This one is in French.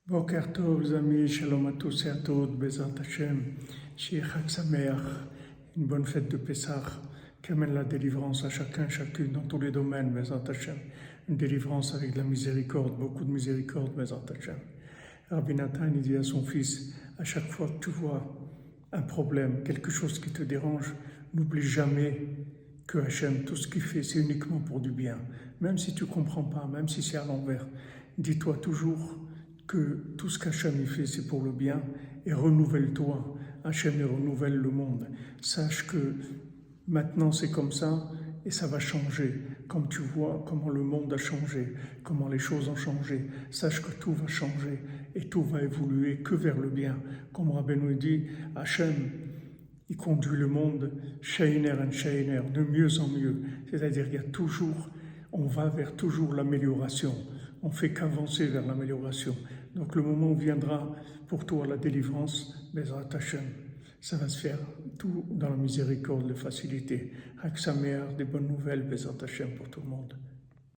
Boker Tov, les amis, shalom à tous et à toutes, Bezrat Hashem, Shir Chag Sameach, une bonne fête de Pessah, qui amène la délivrance à chacun, chacune, dans tous les domaines, Bezrat Hashem. Une délivrance avec de la miséricorde, beaucoup de miséricorde, Bezrat Hashem. Rabbi Nathan, il dit à son fils, à chaque fois que tu vois un problème, quelque chose qui te dérange, n'oublie jamais que Hachem, tout ce qu'il fait, c'est uniquement pour du bien. Même si tu ne comprends pas, même si c'est à l'envers, dis-toi toujours que tout ce qu'Hachem fait, c'est pour le bien, et renouvelle-toi. Hachem renouvelle le monde. Sache que maintenant c'est comme ça, et ça va changer. Comme tu vois comment le monde a changé, comment les choses ont changé, sache que tout va changer, et tout va évoluer que vers le bien. Comme Rabbeinu dit, Hachem, il conduit le monde, Sheiner and Sheiner, de mieux en mieux. C'est-à-dire qu'il y a toujours, on va vers toujours l'amélioration. On fait qu'avancer vers l'amélioration. Donc le moment où viendra pour toi la délivrance, Bezrat Hashem, ça va se faire tout dans la miséricorde, la facilité. Chag Sameach, des bonnes nouvelles, Bezrat Hashem pour tout le monde.